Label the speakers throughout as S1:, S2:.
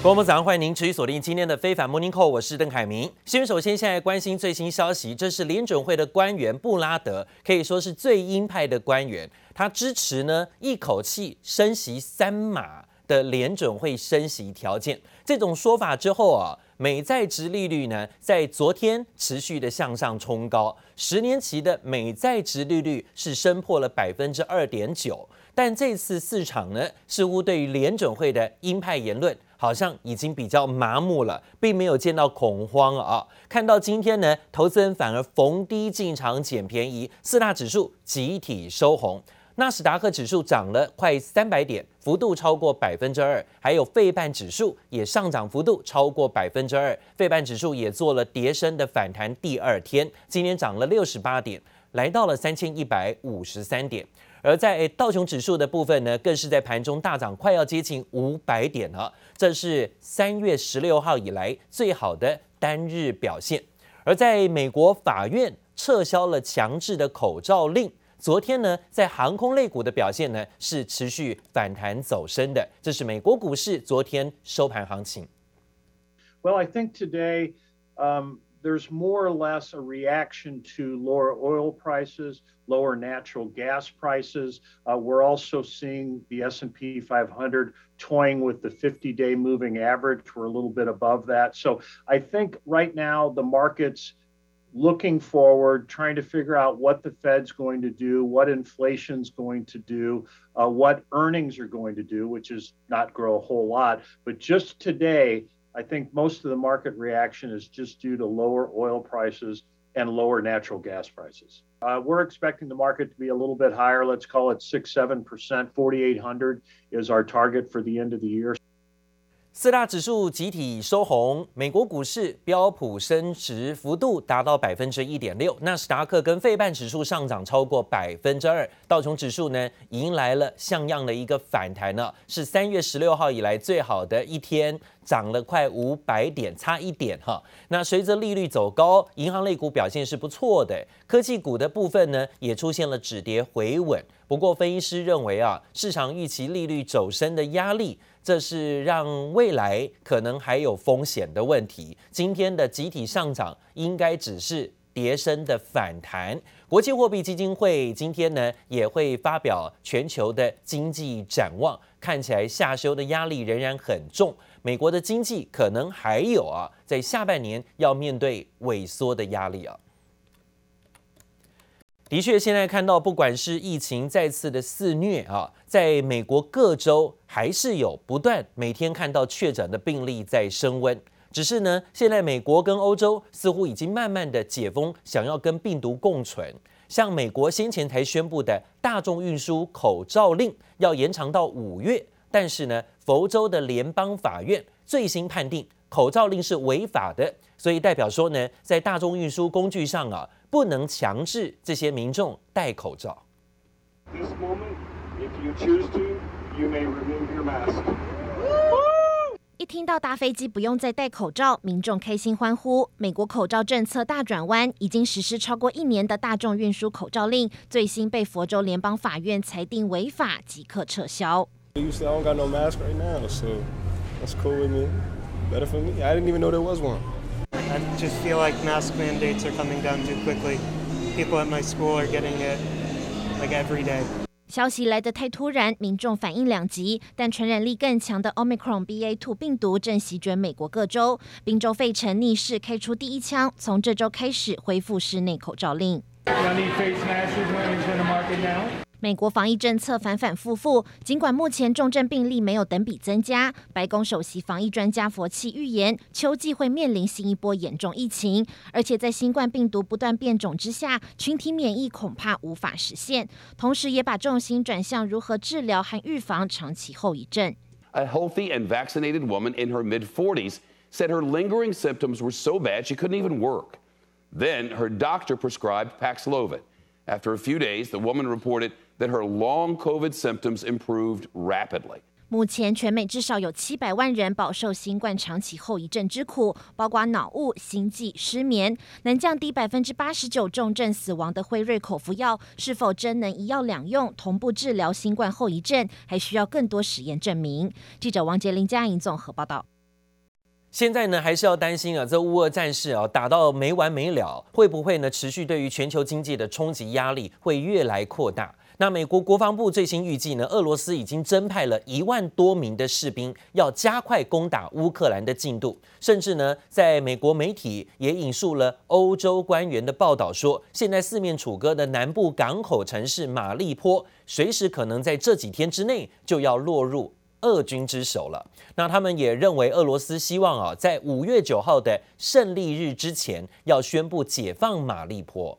S1: 各位早上，歡迎您持續鎖定今天的非凡 Morning Call， 我是鄧凱明。首先現在關心最新消息，這是聯準會的官員布拉德，可以說是最鷹派的官員，他支持呢一口氣升息3碼的聯準會升息條件。這種說法之後啊，美債殖利率呢在昨天持續的向上衝高，10年期的美債殖利率是升破了2.9%，但這次市場呢似乎對於聯準會的鷹派言論好像已經比較麻木了，並沒有見到恐慌啊。看到今天呢，投資人反而逢低進場撿便宜，4大指數集體收紅。納斯達克指數漲了快300點，幅度超過2%，還有費半指數也上漲幅度超過2%，費半指數也做了跌升的反彈，第2天今天漲了68點，來到了3153點。而在道瓊指數的部分呢，更是在盤中大漲，快要接近500點了，這是3月16號以來最好的單日表現。而在美國法院撤銷了強制的口罩令，昨天呢，在航空類股的表現呢是持續反彈走升的，這是美國股市昨天收盤行情。
S2: Well, I think today, there's more or less a reaction to lower oil prices, lower natural gas prices. We're also seeing the S&P 500 toying with the 50-day moving average. We're a little bit above that. So I think right now the market's looking forward, trying to figure out what the Fed's going to do, what inflation's going to do, what earnings are going to do, which is not grow a whole lot. But just today, I think most of the market reaction is just due to lower oil prices and lower natural gas prices. We're expecting the market to be a little bit higher. Let's call it 6-7%. 4,800 is our target for the end of the year.
S1: 4大指數集體收紅，美國股市標普升值幅度達到1.6%，納斯達克跟費半指數上漲超過2%，道瓊指數呢迎來了像樣的一個反彈呢，是3月16號以來最好的一天，漲了快500點，差1點哈。那隨着利率走高，銀行類股表現是不錯的，科技股的部分呢也出現了止跌回穩。不過分析師認為啊，市場預期利率走升的壓力，這是讓未來可能還有風險的問題。今天的集體上漲應該只是跌升的反彈。國際貨幣基金會今天呢也會發表全球的經濟展望，看起來下修的壓力仍然很重。美國的經濟可能還有啊，在下半年要面對萎縮的壓力啊。的確，現在看到不管是疫情再次的肆虐啊，在美國各州還是有不斷每天看到確診的病例在升溫。只是呢，現在美國跟歐洲似乎已經慢慢的解封，想要跟病毒共存。像美國先前才宣布的大眾運輸口罩令要延長到5月，但是呢，佛州的聯邦法院最新判定口罩令是違法的，所以代表說呢，在大眾運輸工具上啊，不能強制這些民眾戴口罩。
S3: This moment, if you choose to, you may remove your mask.
S4: 一聽到搭飛機不用再戴口罩，民眾開心歡呼。美國口罩政策大轉彎，已經實施超過1年的大眾運輸口罩令，最新被佛州聯邦法院裁定違法，即刻撤銷。
S5: You say I don't got no mask right now, so that's cool with me. Better for me. I didn't even know there was one.
S6: I just feel like mask mandates are coming down too quickly. People at my school are getting it like every day.
S4: 消息來得太突然，民眾反應兩極，但傳染力更強的 Omicron BA.2 病毒正席捲美國各州，賓州費城逆勢開出第一槍，從這周開始恢復室內口罩令。美國防疫政策反反复复，儘管目前重症病例沒有等比增加，白宮首席防疫專家佛奇預言，秋季會面臨新一波嚴重疫情，而且在新冠病毒不斷變種之下，群體免疫恐怕無法實現，同時也把重心轉向如何治療和預防長期後遺症。
S7: A healthy and vaccinated woman in her mid-40s said her lingering symptoms were so bad she couldn't even work. Then her doctor prescribed Paxlovid. After a few days, the woman reported that her long COVID symptoms improved rapidly.
S4: 目前全美至少有700萬人飽受新冠長期後遺症之苦，包括腦霧、心悸、失眠。能降低89%重症死亡的輝瑞口服藥，是否真能一藥兩用，同步治療新冠後遺症，還需要更多實驗證明。記者王杰林、嘉瑩綜合報道。
S1: 現在呢，還是要擔心啊，這烏俄戰事啊打到沒完沒了，會不會呢持續對於全球經濟的衝擊壓力會越來擴大？那美國國防部最新預計呢，俄羅斯已經增派了1萬多名的士兵，要加快攻打烏克蘭的進度。甚至呢，在美國媒體也引述了歐洲官員的報道說，現在四面楚歌的南部港口城市馬利坡，隨時可能在這幾天之內就要落入俄軍之手了。那他們也認為，俄羅斯希望啊，在5月9號的勝利日之前，要宣布解放馬利坡。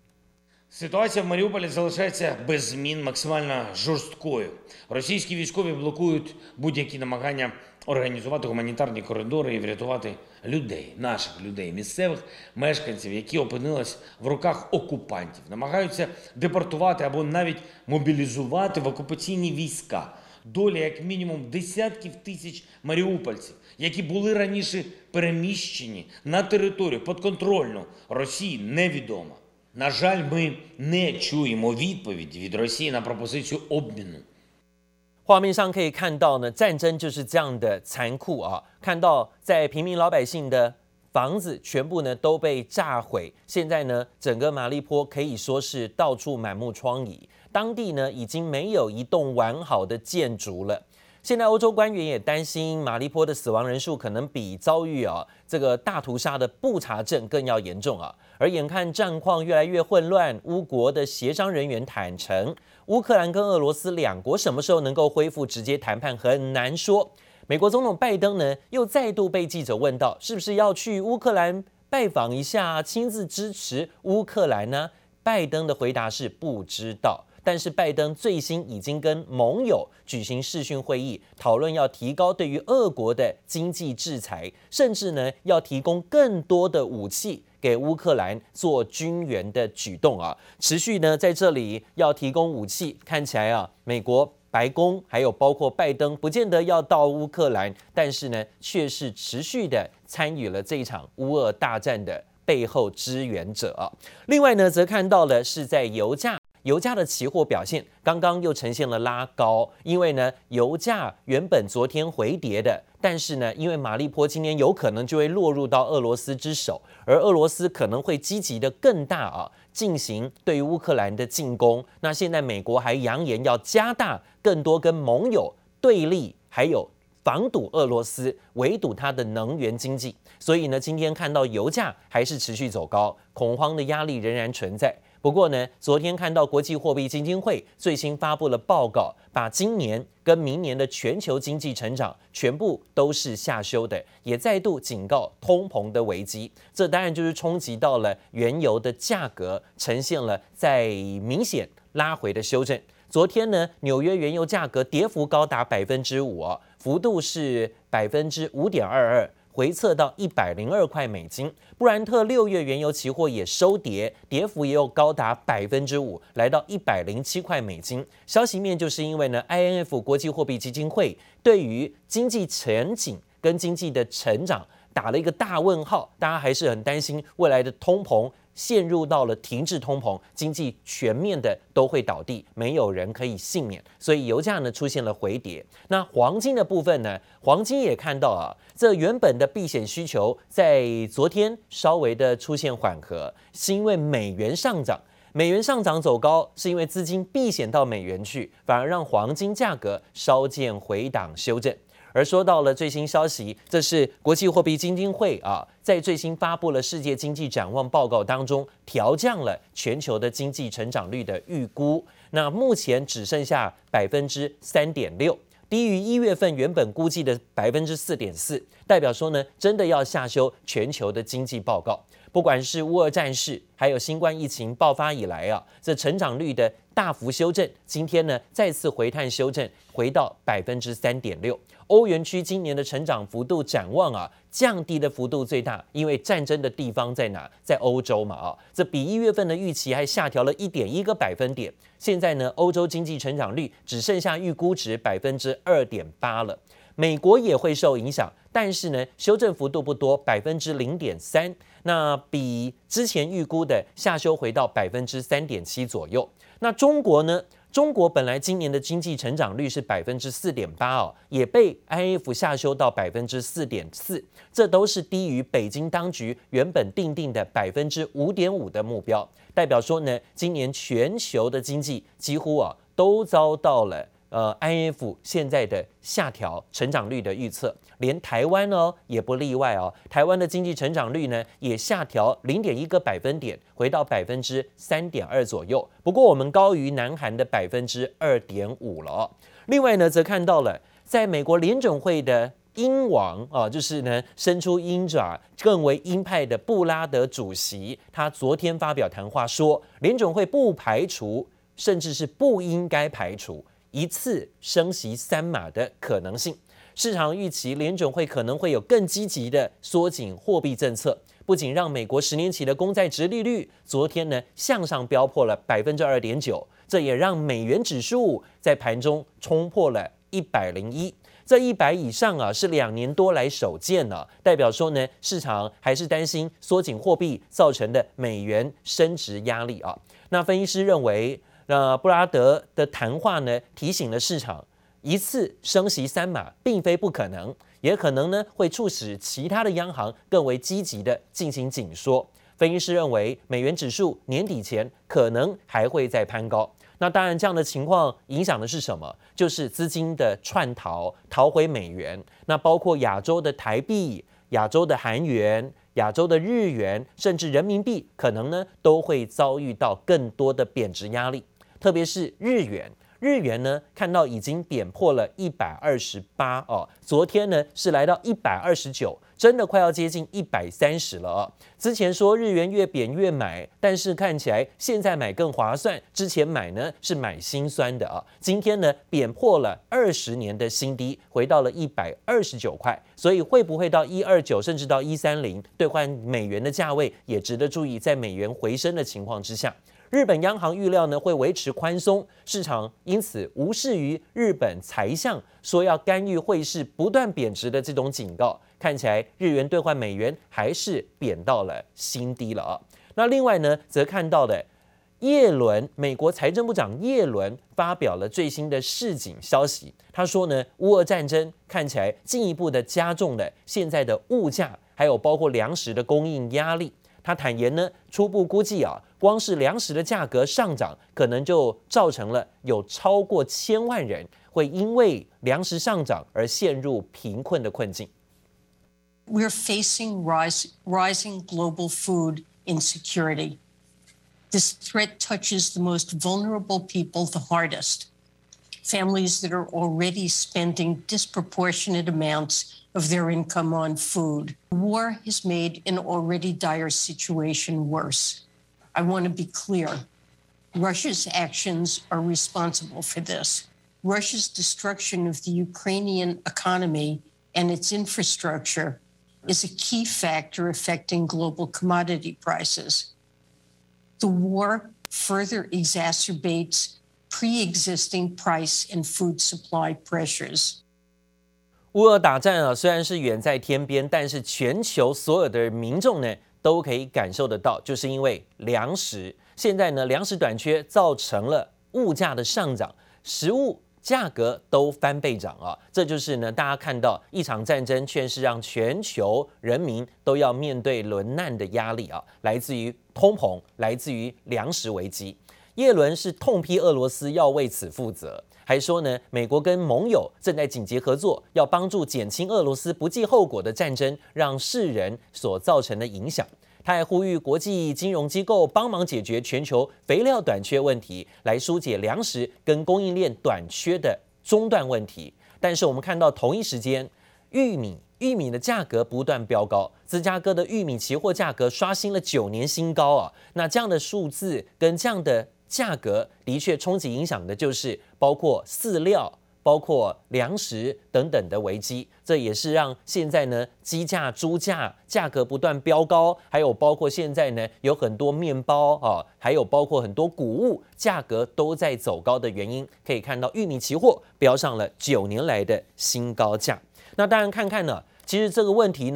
S8: Ситуація в Маріуполі залишається без змін максимально жорсткою. Російські військові блокують будь-які намагання організувати гуманітарні коридори і врятувати людей, наших людей, місцевих мешканців, які опинились в руках окупантів. Намагаються депортувати або навіть мобілізувати в окупаційні війська. Доля як мінімум десятків тисяч маріупольців, які були раніше переміщені на територію підконтрольну Росії, невідома. На жаль, ми не чуємо відповіді від Росії на пропозицію обміну.
S1: 畫面上可以看到呢，戰爭就是這樣的殘酷啊！看到在平民老百姓的房子全部呢都被炸毀，現在呢整個馬利坡可以說是到處滿目瘡痍，當地呢已經沒有一棟完好的建築了。現在歐洲官員也擔心馬利坡的死亡人數可能比遭遇這個大屠殺的布查鎮更要嚴重啊！而眼看戰況越來越混亂，烏國的協商人員坦承，烏克蘭跟俄羅斯兩國什麼時候能夠恢復直接談判很難說。美國總統拜登呢又再度被記者問到，是不是要去烏克蘭拜訪一下，親自支持烏克蘭呢？拜登的回答是不知道。但是拜登最新已經跟盟友舉行視訊會議，討論要提高對於俄國的經濟制裁，甚至呢要提供更多的武器給烏克蘭做軍援的舉動啊，持續呢在這裡要提供武器，看起來啊，美國白宮還有包括拜登不見得要到烏克蘭，但是呢卻是持續的參與了這一場烏俄大戰的背後支援者啊。另外呢，則看到了是在油價的期貨表現剛剛又呈現了拉高，因為呢油價原本昨天回跌的，但是呢因為馬利坡今天有可能就會落入到俄羅斯之手，而俄羅斯可能會積極的更大啊進行對於烏克蘭的進攻。那現在美國還揚言要加大更多跟盟友對立，還有防堵俄羅斯，圍堵它的能源經濟。所以呢今天看到油價還是持續走高，恐慌的壓力仍然存在。不過呢，昨天看到國際貨幣基金會最新發布了報告，把今年跟明年的全球經濟成長全部都是下修的，也再度警告通膨的危機。這當然就是衝擊到了原油的價格，呈現了在明顯拉回的修正。昨天呢，紐約原油價格跌幅高達5%，幅度是5.22%。回測到102塊美金，布蘭特6月原油期貨也收跌，跌幅也有高達5%，來到107塊美金。消息面就是因為呢 ，IMF 國際貨幣基金會對於經濟前景跟經濟的成長打了一個大問號，大家還是很擔心未來的通膨陷入到了停滯通膨，經濟全面的都會倒地，沒有人可以幸免，所以油價呢出現了回跌。那黃金的部分呢，黃金也看到啊，這原本的避險需求在昨天稍微的出現緩和，是因為美元上漲。美元上漲走高，是因為資金避險到美元去，反而讓黃金價格稍見回檔修正。而說到了最新消息，這是國際貨幣基金會在最新發布了世界經濟展望報告當中，調降了全球的經濟成長率的預估。那目前只剩下3.6%，低於1月份原本估計的4.4%，代表說呢，真的要下修全球的經濟報告。不管是烏俄戰事，還有新冠疫情爆發以來這成長率的大幅修正，今天呢再次回探修正，回到3.6%。歐元區今年的成長幅度展望降低的幅度最大，因為戰爭的地方在哪？在歐洲嘛這比1月份的預期還下調了1.1個百分點。現在呢，歐洲經濟成長率只剩下預估值2.8%了。美國也會受影響，但是呢，修正幅度不多，0.3%，那比之前預估的下修回到3.7%左右。那中國呢？ 中國本來今年的經濟成長率是4.8%哦，也被 IMF 下修到4.4%，這都是低於北京當局原本定定的5.5%的目標，代表說呢，今年全球的经濟幾乎都遭到了IMF 现在的下調成長率的預測，連台灣也不例外哦。台灣的經濟成長率呢也下調0.1個百分點，回到3.2%左右。不過我們高於南韓的2.5%了哦。另外呢，則看到了在美國聯準會的鷹王就是呢伸出鷹爪更為鷹派的布拉德主席，他昨天發表談話說，聯準會不排除，甚至是不應該排除一次升息3碼的可能性。市場預期聯準會可能會有更積極的縮緊貨幣政策，不僅讓美國10年期的公債殖利率昨天呢向上飆破了2.9%，這也讓美元指數在盤中衝破了101。這100以上是2年多來首見了，代表說呢，市場還是擔心縮緊貨幣造成的美元升值壓力啊。那分析師認為，布拉德的談話呢，提醒了市場，一次升息3碼並非不可能，也可能呢會促使其他的央行更為積極的進行緊縮。分析師認為，美元指數年底前可能還會再攀高。那當然，這樣的情況影響的是什麼？就是資金的竄逃回美元。那包括亞洲的台幣、亞洲的韓元、亞洲的日元，甚至人民幣，可能呢都會遭遇到更多的貶值壓力。特別是日元，日元呢看到已經貶破了128哦，昨天呢是來到129，真的快要接近130了哦。之前說日元越貶越買，但是看起来現在買更划算，之前買呢是買心酸的啊。今天呢貶破了20年的新低，回到了129塊，所以會不會到129甚至到130兌換美元的價位，也值得注意。在美元回升的情況之下，日本央行預料呢會維持寬鬆，市場因此無視於日本財相說要干預匯市不斷貶值的這種警告，看起來日元兌換美元還是貶到了新低了啊。那另外呢，則看到的耶倫，美國財政部長耶倫發表了最新的示警消息，他說呢，烏俄戰爭看起來進一步的加重了現在的物價，還有包括糧食的供應壓力。他坦言呢，初步估計光是糧食的價格上漲，可能就造成了有超過1000萬人會因為糧食上漲而陷入貧困的困境。
S9: We're facing rising global food insecurity. This threat touches the most vulnerable people the hardest. Families that are already spending disproportionate amounts of their income on food. War has made an already dire situation worse. I want to be clear. Russia's actions are responsible for this. Russia's destruction of the Ukrainian economy and its infrastructure is a key factor affecting global commodity prices. The war further exacerbates pre-existing price and food supply pressures.
S1: 烏俄打戰雖然是遠在天邊，但是全球所有的民眾呢都可以感受得到，就是因為糧食現在呢糧食短缺造成了物價的上漲，食物價格都翻倍漲啊！這就是呢大家看到一場戰爭卻是讓全球人民都要面對淪難的壓力啊，來自於通膨，來自於糧食危機。耶倫是痛批俄羅斯要為此負責。還說呢，美國跟盟友正在緊急合作，要幫助減輕俄羅斯不計後果的戰爭讓世人所造成的影響。他還呼籲國際金融機構幫忙解決全球肥料短缺問題，來疏解糧食跟供應鏈短缺的中斷問題。但是我們看到同一時間，玉米的價格不斷飆高，芝加哥的玉米期貨價格刷新了9年新高啊！那這樣的數字跟這樣的價格的確衝擊影響的就是包括飼料、包括糧食等等的危機，這也是讓現在呢雞價、豬價價格不斷飆高，還有包括現在呢有很多麵包啊，還有包括很多穀物價格都在走高的原因。可以看到玉米期貨飆上了9年來的新高價。那當然看看呢，其實這個問題呢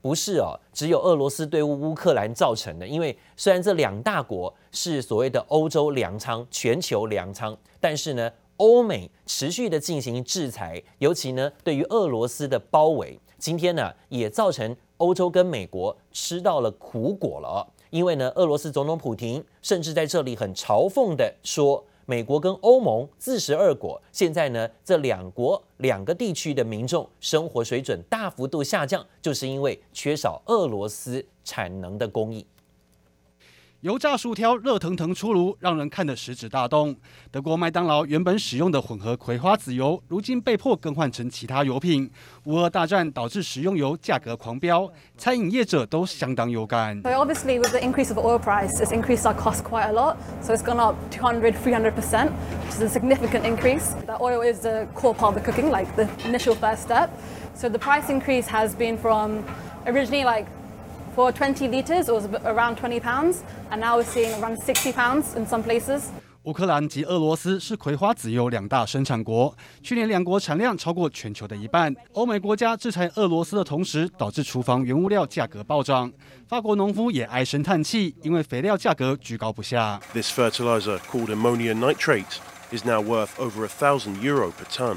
S1: 不是只有俄羅斯對烏克蘭造成的，因為雖然這兩大國是所謂的歐洲糧倉、全球糧倉，但是呢，歐美持續的進行制裁，尤其呢對於俄羅斯的包圍，今天呢也造成歐洲跟美國吃到了苦果了因為呢，俄羅斯總統普亭甚至在這裡很嘲諷的說，美國跟歐盟自食惡果，現在呢，這兩個地區的民眾生活水準大幅度下降，就是因為缺少俄羅斯產能的供應。
S10: 油炸薯條熱騰騰出爐，讓人看得食指大動。德國麥當勞原本使用的混合葵花籽油，如今被迫更換成其他油品。烏俄大戰導致食用油價格狂飆，餐飲業者都相當有感。
S11: So obviously, with the increase of oil price, it's increased our cost quite a lot. So it's gone up 200, 300%, which is a significant increase. The oil is the core part of the cooking, like the initial first step. So the price increase has been from originally for 20 liters, it was around 20 pounds, and now we're seeing around 60 pounds in some places.
S10: 烏克蘭及俄羅斯是葵花籽油兩大生產國，去年兩國產量超過全球的一半。歐美國家制裁俄羅斯的同時，導致廚房原物料價格暴漲。法國農夫也唉聲嘆氣，因為肥料價格居高不下。
S12: This fertilizer, called ammonium nitrate, is now worth over €1,000 per ton,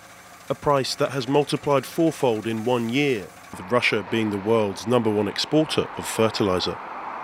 S12: a price that has multiplied fourfold in 1 year. With Russia being the world's #1 exporter of fertilizer.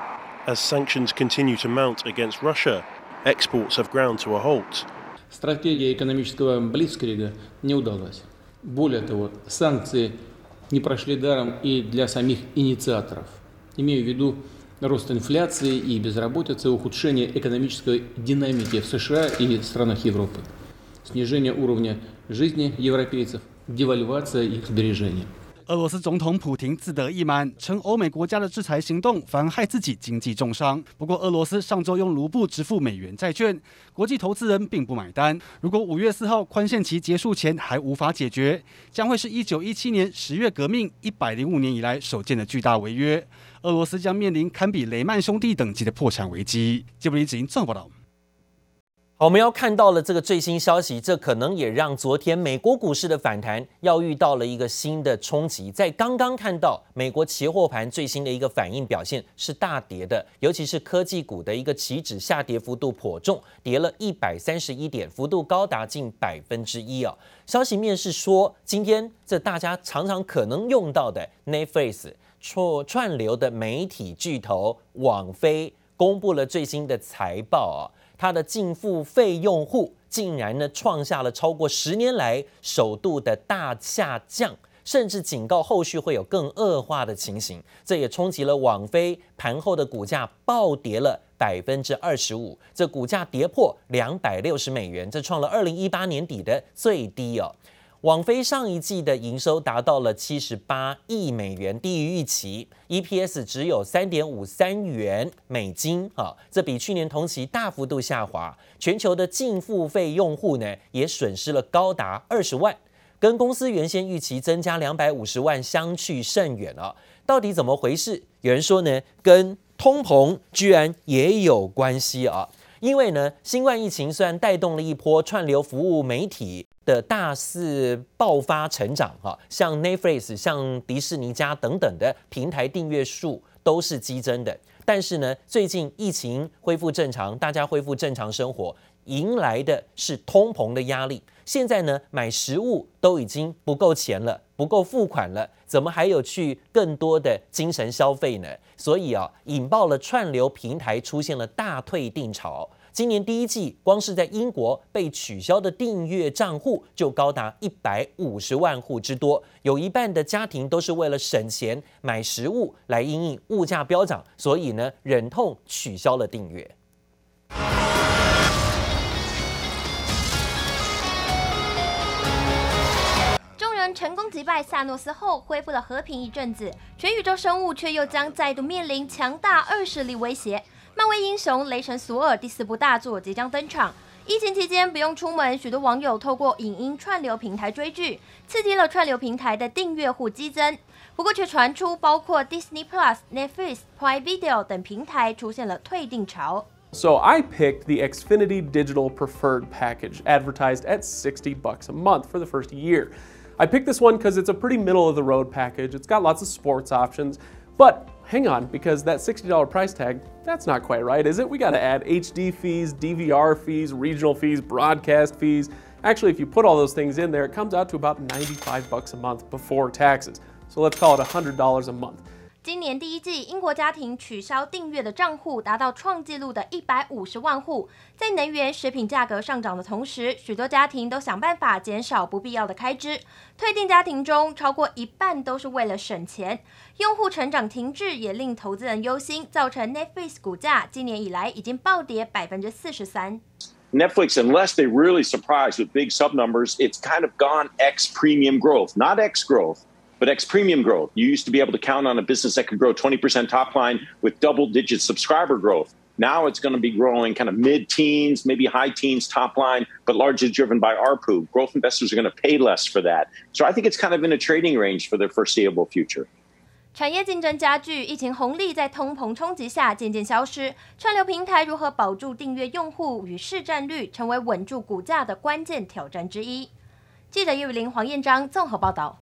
S12: As sanctions continue to mount against Russia, exports have ground to a halt.
S13: Стратегия экономического блицкрига не удалась. Более того, санкции не прошли даром и для самих инициаторов. Имею в виду рост инфляции и безработицы, ухудшение экономической динамики в США и странах Европы, снижение уровня жизни европейцев, девальвация их сбережений.
S10: 俄羅斯總統普亭自得意滿，稱歐美國家的制裁行動反而害自己經濟重傷。不過，俄羅斯上週用盧布支付美元債券，國際投資人並不買單。如果5月4號寬限期結束前還無法解決，將會是1917年10月革命105年以來首見的巨大違約。俄羅斯將面臨堪比雷曼兄弟等級的破產危機。傑布里子英綜合報道。
S1: 好，我們要看到了這個最新消息，這可能也讓昨天美國股市的反彈要遇到了一個新的衝擊。在剛剛看到美國期貨盤最新的一個反應表現是大跌的，尤其是科技股的一個期指下跌幅度頗重，跌了131點，幅度高達近1%消息面是說，今天這大家常常可能用到的 Netflix 串流的媒體巨頭網飛公布了最新的財報它的淨付費用戶竟然呢創下了超過10年來首度的大下降，甚至警告後續會有更惡化的情形。這也衝擊了網飛盤後的股價暴跌了25%，這股價跌破$260，這創了2018年底的最低網飛上一季的營收達到了78億美元，低於預期 ，EPS 只有3.53元美金這比去年同期大幅度下滑。全球的淨付費用戶呢，也損失了高達20萬，跟公司原先預期增加250萬相去甚遠到底怎麼回事？有人說呢，跟通膨居然也有關係因為呢，新冠疫情雖然帶動了一波串流服務媒體的大肆爆發成長像 Netflix、像迪士尼家等等的平台訂閱數都是激增的，但是呢，最近疫情恢復正常，大家恢復正常生活，迎來的是通膨的壓力。現在呢，買食物都已經不夠錢了，不夠付款了，怎麼還有去更多的精神消費呢？所以引爆了串流平台出現了大退訂潮。今年第一季，光是在英國被取消的訂閱賬戶就高達150萬戶之多，有一半的家庭都是為了省錢買食物來因應物價飆漲，所以呢，忍痛取消了訂閱。
S14: 眾人成功擊敗薩諾斯後，恢復了和平一陣子，全宇宙生物卻又將再度面臨強大惡勢力威脅。漫威英雄雷神索爾第4部大作即將登場。疫情期間不用出門，許多網友透過影音串流平台追劇，刺激了串流平台的訂閱戶激增。不過卻傳出包括 Disney Plus、Netflix、Prime Video 等平台出現了退訂潮。
S15: So I picked the Xfinity Digital Preferred package, advertised at $60 a month for the first year. I picked this one because it's a pretty middle-of-the-road package. It's got lots of sports options, but hang on, because that $60 price tag, that's not quite right, is it? We got to add HD fees, DVR fees, regional fees, broadcast fees. Actually, if you put all those things in there, it comes out to about $95 a month before taxes. So let's call it $100 a month.
S14: 今年第一季，英国家庭取消訂閱的賬戶達到創紀錄的150萬戶。在能源、食品價格上漲的同時，許多家庭都想辦法減少不必要的開支。退訂家庭中，超過一半都是為了省錢。用戶成長停滯也令投資人憂心，造成 Netflix 股價今年以來已經暴跌43%。
S16: Netflix, unless they really surprise with big sub numbers, it's kind of gone X premium growth, not X growth. But X premium growth, you used to be able to count on a business that could grow 20% top line with double-digit subscriber growth. Now it's going to be growing kind of mid-teens, maybe high teens top line, but largely driven by ARPU. Growth investors are going to pay less for that. So I think it's kind of in a trading range for the foreseeable future.
S14: 產業競爭加劇，疫情紅利在通膨衝擊下漸漸消失。串流平台如何保住訂閱用戶與市占率，成為穩住股價的關鍵挑戰之一。記者葉雨玲、黃彥章綜合報道。